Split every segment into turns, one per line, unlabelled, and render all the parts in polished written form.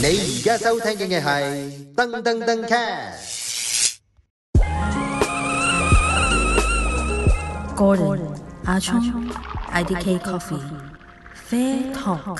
你而家收聽嘅係噔噔噔 cast。
Gordon 阿聰 IDK Coffee Fair Talk。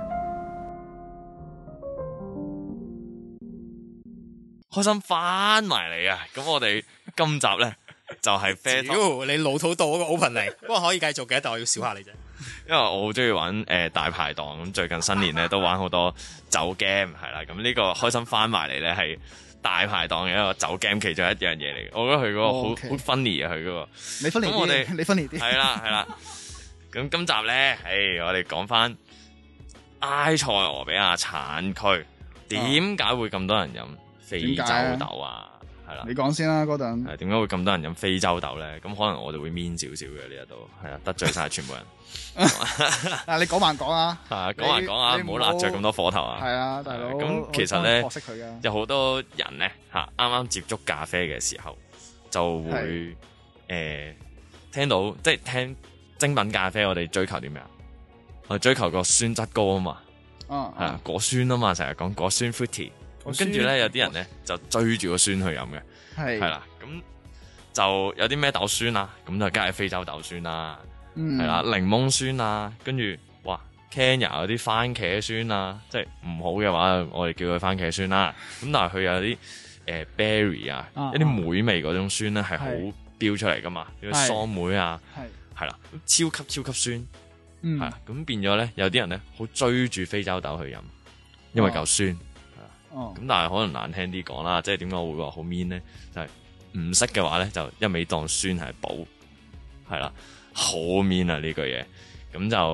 開心翻埋嚟啊！咁我哋今集咧就係 Fair Talk。
你老土到嗰個 opening，不過可以繼續嘅，但我要笑下你啫。
因為我好中意玩大排檔，咁最近新年咧都玩好多酒 game 係啦。咁呢個開心翻埋嚟咧係大排檔嘅一個酒 game 其中一樣嘢嚟嘅。我覺得佢嗰個好 funny 啊，佢嗰個。
你 funny 啲，
咁我哋
你 funny 啲。
係啦。咁今集咧，我哋講翻埃塞俄比亞產區點解會咁多人飲非洲豆啊？係啦，
你講先啦，嗰陣。
係點解會咁多人飲非洲豆咧？咁可能我哋會 mean 少少嘅呢一度，係啊，得罪晒全部人。
嗱，你講還講啊？
係講還講啊，唔好揦着咁多火頭啊！
係啊，大佬。
咁其實咧，
學識佢㗎。
有好多人咧啱啱接觸咖啡嘅時候，就會聽到即係聽精品咖啡，我哋追求啲咩啊？我哋追求個酸質高啊嘛，係啊，果酸啊嘛，成日講果酸 fruity。咁跟住咧，有啲人咧就追住個酸去飲嘅，係啦。咁就有啲咩豆酸啊？咁就梗係非洲豆酸啦，係啦，檸檬酸啊，跟住哇 Kenya 有啲番茄酸啊，即係唔好嘅話，我哋叫佢番茄酸啦。咁但係佢有啲berry 啊，一啲莓味嗰種酸咧係好飆出嚟噶嘛，啲桑莓啊，係啦，超級酸，係啦。咁變咗咧，有啲人咧好追住非洲豆去飲，因為夠酸。咁但係可能難聽啲講啦，即係點解我會話好 mean 咧？就係唔識嘅話咧，就一味當酸係補，係啦，好 mean 啊呢句嘢。咁就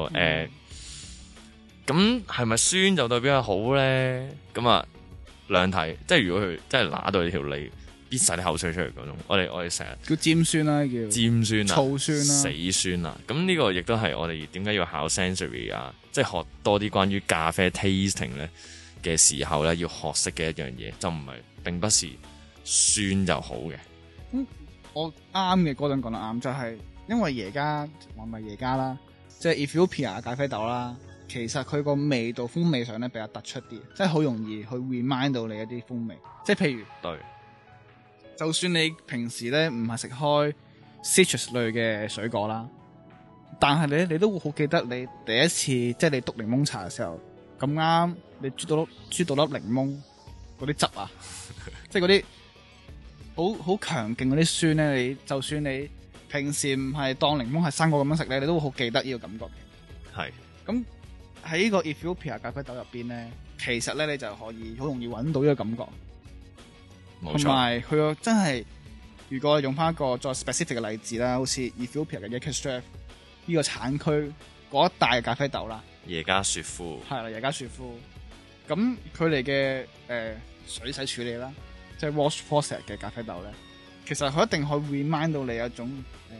咁係咪酸就代表係好咧？咁啊兩睇，即係如果佢真係揦到你條脷，逼晒啲口水出嚟嗰種，我哋成日
叫尖酸啦，叫
尖酸啊，
醋酸啦，
死酸啊。咁呢個亦都係我哋點解要考 sensory 啊，即係學多啲關於咖啡 tasting 咧嘅時候咧，要學識嘅一樣嘢，就唔係並不是酸就好嘅。
我啱嘅嗰陣講得啱，就係因為耶加話咪耶加啦，即係 Ethiopia 咖啡豆啦，其實佢個味道風味上咧比較突出啲，即係好容易去 remind 到你一啲風味。即係譬如，
對，
就算你平時咧唔係食開 citrus 類嘅水果啦，但係你都會好記得你第一次即係你篤檸檬茶嘅時候。咁啱，你啜到粒檸檬嗰啲汁啊，即係嗰啲好強勁嗰啲酸咧。你就算你平時唔係當檸檬係生果咁樣食咧，你都會好記得呢個感覺嘅。
係。咁
喺呢個 Ethiopia 咖啡豆入邊咧，其實咧你就可以好容易揾到呢個感覺。冇錯。同埋佢個真係，如果用翻一個再 specific 嘅例子啦，好似 Ethiopia 嘅 Yekka 呢個產區嗰一帶嘅咖啡豆啦。
耶加雪夫
係啦，耶加雪夫。咁佢哋嘅水洗處理啦，即係 wash process 嘅咖啡豆咧，其實佢一定可以 remind 到你一種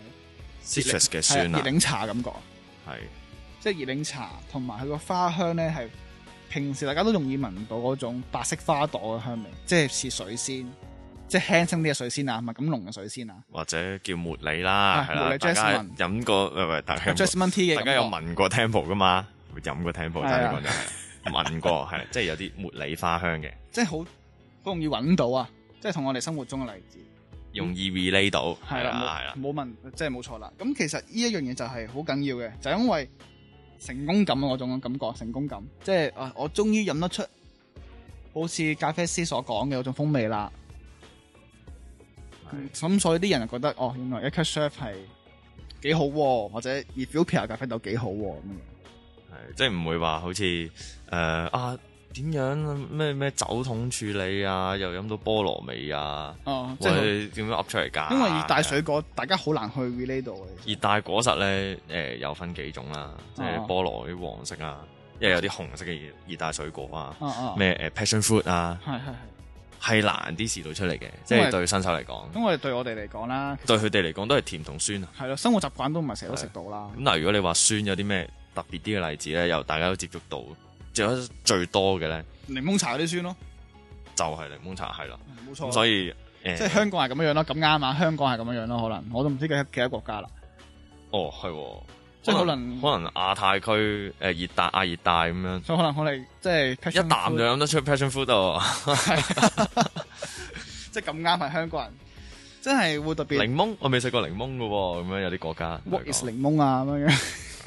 citrus 嘅酸啊，
熱檸茶感覺。
係，
即係熱檸茶，同埋佢個花香咧係平時大家都容易聞到嗰種白色花朵嘅香味，即係似水仙，即係輕聲啲嘅水仙啊，唔係咁濃嘅水仙啊，或
者叫茉莉啦，係啦，
大家
飲過大家
Jasmine tea 嘅，
大家有聞過 Temple 噶嘛？會飲過 Temple，但係講真係聞過，係即係有啲茉莉花香嘅，
即係好容易揾到啊！即係同我哋生活中嘅例子，
容易 relate 到，係啦，
冇問，即係冇錯啦。咁其實呢一樣嘢就係好緊要嘅，就係因為成功感嗰種感覺，成功感，即係我終於飲得出好似咖啡師所講嘅嗰種風味啦。咁所以啲人就覺得原來 Yekka Chef 係幾好，或者 Ethiopia 咖啡豆幾好咁樣。
係，即係唔會話好似點樣咩酒桶處理啊，又飲到菠蘿味啊，即係點樣噏出嚟㗎？
因為熱帶水果大家好難去 relate 到嘅。
熱帶果實咧，有分幾種啦，即係菠蘿啲黃色啊，因為有啲紅色嘅熱帶水果啊，咩passion fruit 啊，係難啲試到出嚟嘅，即係對新手嚟講。
因為對我哋嚟講啦，
對佢哋嚟講都係甜同酸啊。
係咯，生活習慣都唔係成日都食到啦。
咁嗱，如果你話酸有啲咩特別啲嘅例子咧，又大家都接觸到，最多嘅咧，
檸檬茶嗰啲酸咯，
就係檸檬茶係啦，
冇錯。
所以
即係香港係咁樣咯，咁啱啊！香港係咁樣咯，可能我都唔知幾多國家啦。
係喎，
即係可能
亞太區熱帶亞熱帶咁樣，
所以可能我哋即係
一啖就飲得出 passion fruit 喎。
即係咁啱係香港人，真係會特別。
檸檬我未食過檸檬㗎喎，咁樣有啲國家。
What is 檸檬啊咁樣？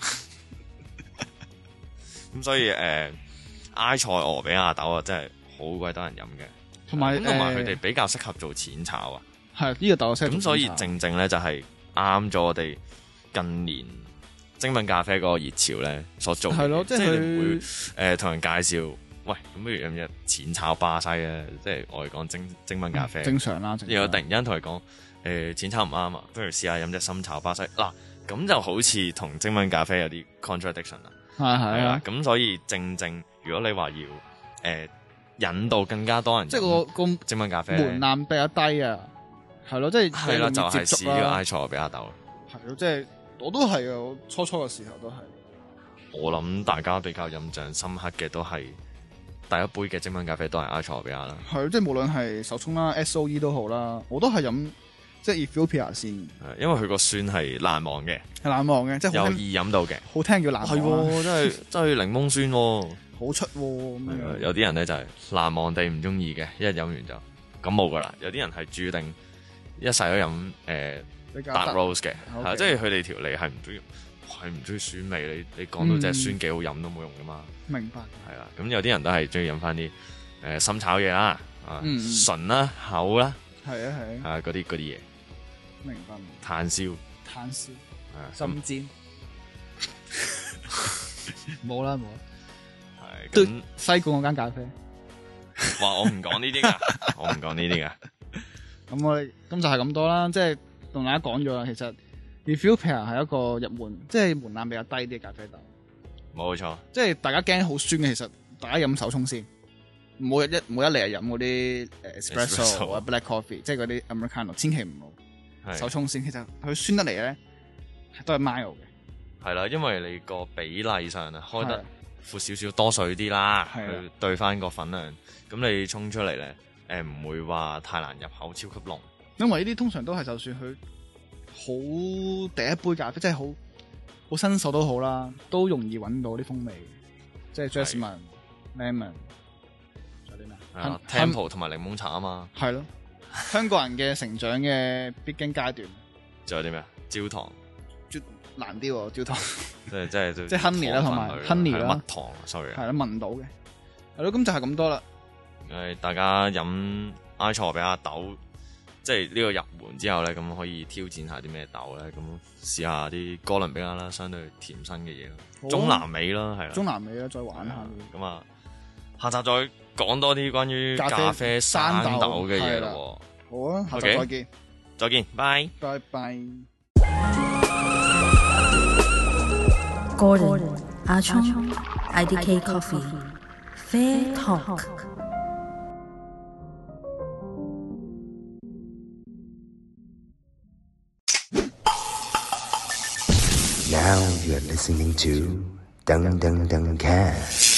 咁所以埃塞俄比亞豆啊，真係好鬼多人飲嘅。同埋佢哋比較適合做淺炒啊。
係呢個豆適合。
咁所以正咧就係啱咗我哋近年精品咖啡嗰個熱潮咧所做嘅。係咯，即係你唔會同人介紹，喂，咁不如飲隻淺炒巴西啊！即係我哋講精品咖啡。
正常啦。
然後突然間同佢講淺炒唔啱啊，不如試下飲隻深炒巴西嗱，咁就好似同精品咖啡有啲 contradiction 啦。係啊，咁所以正如果你話要引導更加多人，即係個精品咖啡
門檻比較低啊，係咯，即係
係啦，就係試呢個埃塞俄比亞豆。
係咯，即係我都係啊，我初嘅時候都係。
我諗大家比較印象深刻嘅都係第一杯嘅精品咖啡都係埃塞俄比亞啦。係，
即係無論係手沖啦、SOE 都好啦，我都係飲即係 Ethiopia 先。
因為佢個酸係難忘嘅，
即係
有易飲到嘅，
好聽叫難忘。
係真係檸檬酸，
好出咁樣。
有啲人咧就係難忘地唔中意嘅，一飲完就感冒噶啦。有啲人係注定一世都飲Dark Roast 嘅，係即係佢哋條脷係唔中意酸味。你講到隻酸幾好飲都冇用噶嘛。
明白。係
啦，咁有啲人都係中意飲翻啲深炒嘢啦，純啦、厚啦，
係啊
嗰啲嘢。
明白。
炭燒，
深煎，冇啦。
係咁，
西貢嗰間咖啡。
話我唔講呢啲噶，我唔講呢啲噶。
咁我哋就係咁多啦，即係同大家講咗啦。其實 Ethiopia 係一個入門，即係門檻比較低啲嘅咖啡豆。
冇錯，
即係大家驚好酸嘅，其實大家飲手沖先，唔好一嚟飲嗰啲espresso 或者 black coffee，即係嗰啲 Americano， 千祈唔好。手沖先，其實佢酸得嚟咧，都係 mild 嘅。係
啦，因為你個比例上啊，開得闊少少多水啲啦，去對翻個粉量，咁你沖出嚟咧，唔會話太難入口，超級濃。
因為呢啲通常都係就算佢好第一杯咖啡，即係好新手都好啦，都容易揾到啲風味，即係 jasmine、lemon， 仲有啲咩
？Tempo 同埋檸檬茶啊嘛。
係咯。香港人嘅成長嘅必經階段，
仲有啲咩？焦糖，
難啲喎，焦糖，
即係
honey 啦，同埋 honey 啦，
蜜糖 ，sorry，
係啦，聞到嘅，係咯，咁就係咁多啦。
大家飲埃塞俄比亞豆，即係呢個入門之後咧，咁可以挑戰下啲咩豆咧？咁試下啲哥倫比亞啦，相對甜身嘅嘢咯，中南美啦，係啦，
中南美啦，再玩下。
咁啊，下集再講多啲關於咖啡生豆嘅嘢咯。
好啊，下集再見，
再見，拜
拜。
Gordon 阿聰 IDK Coffee Fair Talk。
Now you're listening to Dung Dung Dung Cat。